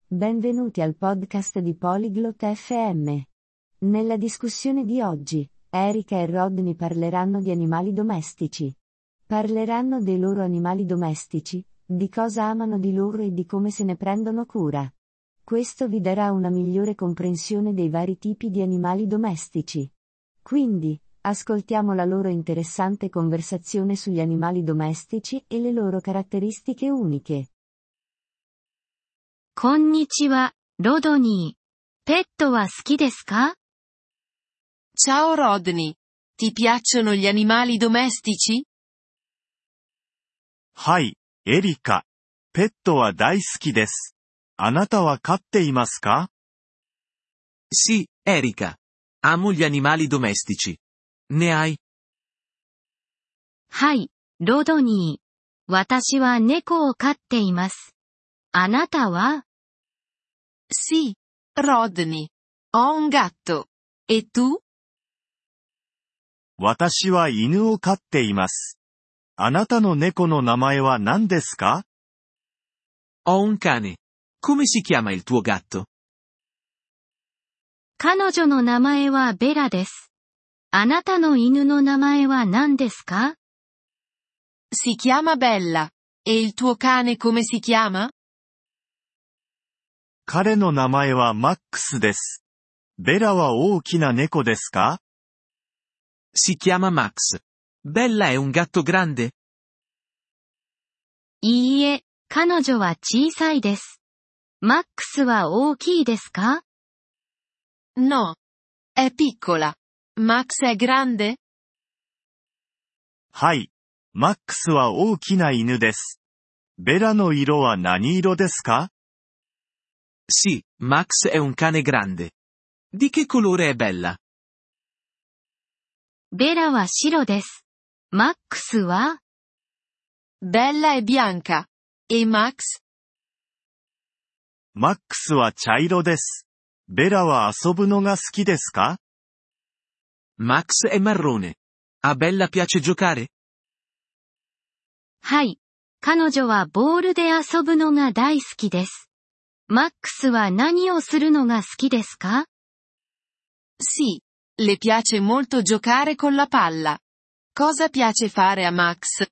Benvenuti al podcast di Polyglot FM. Nella discussione di oggi, Erika e Rodney parleranno di animali domestici. Parleranno dei loro animali domestici, di cosa amano di loro e di come se ne prendono cura. Questo vi darà una migliore comprensione dei vari tipi di animali domestici. Quindi, ascoltiamo la loro interessante conversazione sugli animali domestici e le loro caratteristiche uniche. こんにちは、ロドニー。ペットは好きですか？ Ciao Rodney. Ti piacciono gli animali domestici? はい、エリカ。ペットは大好きです。あなたは飼っていますか？ Sì, Erika. Amo gli animali domestici. Ne hai? はい、ロドニー。私は猫を飼っています。あなたは？ Sì, Rodney. Ho un gatto. E tu? 私は犬を飼っています。あなたの猫の名前は何ですか？ Ho un cane. Come si chiama il tuo gatto? 彼女の名前はベラです。あなたの犬の名前は何ですか？ Si chiama Bella. E il tuo cane come si chiama? 彼の名前はマックスです。ベラは大きな猫ですか？ Si chiama Max. Bella è un gatto grande? いいえ、彼女は小さいです。マックスは大きいですか？ No. È piccola. Max è grande? はい。マックスは大きな犬です。ベラの色は何色ですか？ Sì, Max è un cane grande. Di che colore è Bella? ベラは白です。マックスは？ Bella è bianca. E Max? マックスは茶色です。ベラは遊ぶのが好きですか？ Max è marrone. A Bella piace giocare? はい。彼女はボールで遊ぶのが大好きです。マックスは何をするのが好きですか？ Sì. Le piace molto giocare con la palla. Cosa piace fare a Max?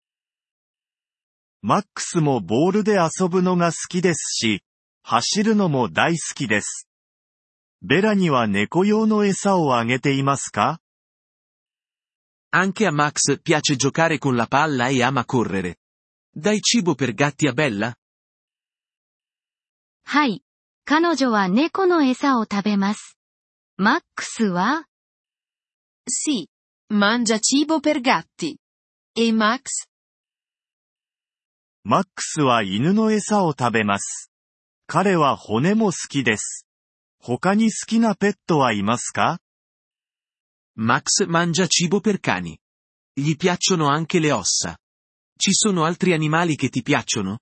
マックスもボールで遊ぶのが好きですし、走るのも大好きです。ベラには猫用の餌をあげていますか？ Anche a Max piace giocare con la palla e ama correre. Dai cibo per gatti a Bella? はい。彼女は猫の餌を食べます。マックスは？ Sì. Mangia cibo per gatti. E Max? マックスは犬の餌を食べます。彼は骨も好きです。他に好きなペットはいますか？ Max mangia cibo per cani. Gli piacciono anche le ossa. Ci sono altri animali che ti piacciono?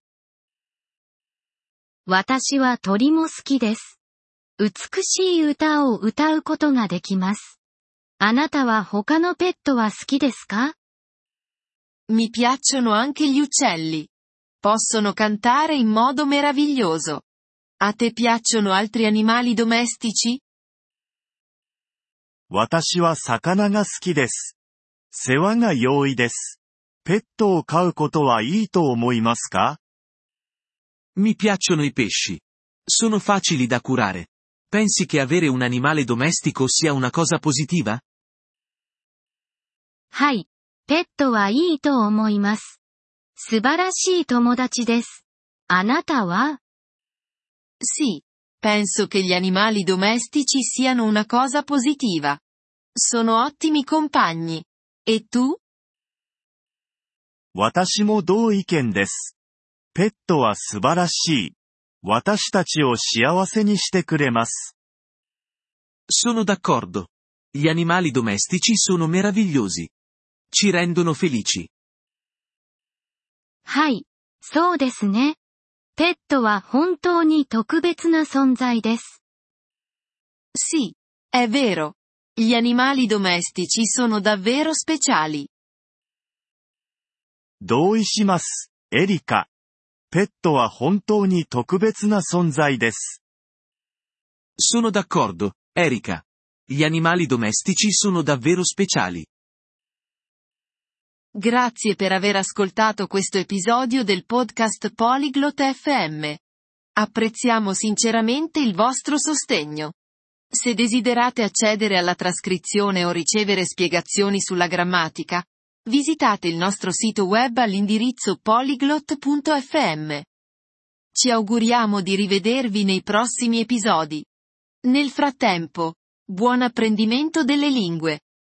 私は鳥も好きです。美しい歌を歌うことができます。あなたは他のペットは好きですか？ Mi piacciono anche gli uccelli. Possono cantare in modo meraviglioso. A te piacciono altri animali domestici? 私は魚が好きです。世話が容易です。ペットを飼うことはいいと思いますか？ Mi piacciono i pesci. Sono facili da curare. Pensi che avere un animale domestico sia una cosa positiva? はい。ペットはいいと思います。素晴らしい友達です。あなたは？ Sì. Penso che gli animali domestici siano una cosa positiva. Sono ottimi compagni. E tu? 私も同意見です。ペットは素晴らしい。私たちを幸せにしてくれます。 Sono d'accordo. Gli animali domestici sono meravigliosi. Ci rendono felici. はい。そうですね。ペットは本当に特別な存在です。 Sì. È vero. Gli animali domestici sono davvero speciali. 同意します、エリカ。 ペットは本当に特別な存在です。 Sono d'accordo, Erika. Gli animali domestici sono davvero speciali. Grazie per aver ascoltato questo episodio del podcast Polyglot FM. Apprezziamo sinceramente il vostro sostegno. Se desiderate accedere alla trascrizione o ricevere spiegazioni sulla grammatica, visitate il nostro sito web all'indirizzo polyglot.fm. Ci auguriamo di rivedervi nei prossimi episodi. Nel frattempo, buon apprendimento delle lingue!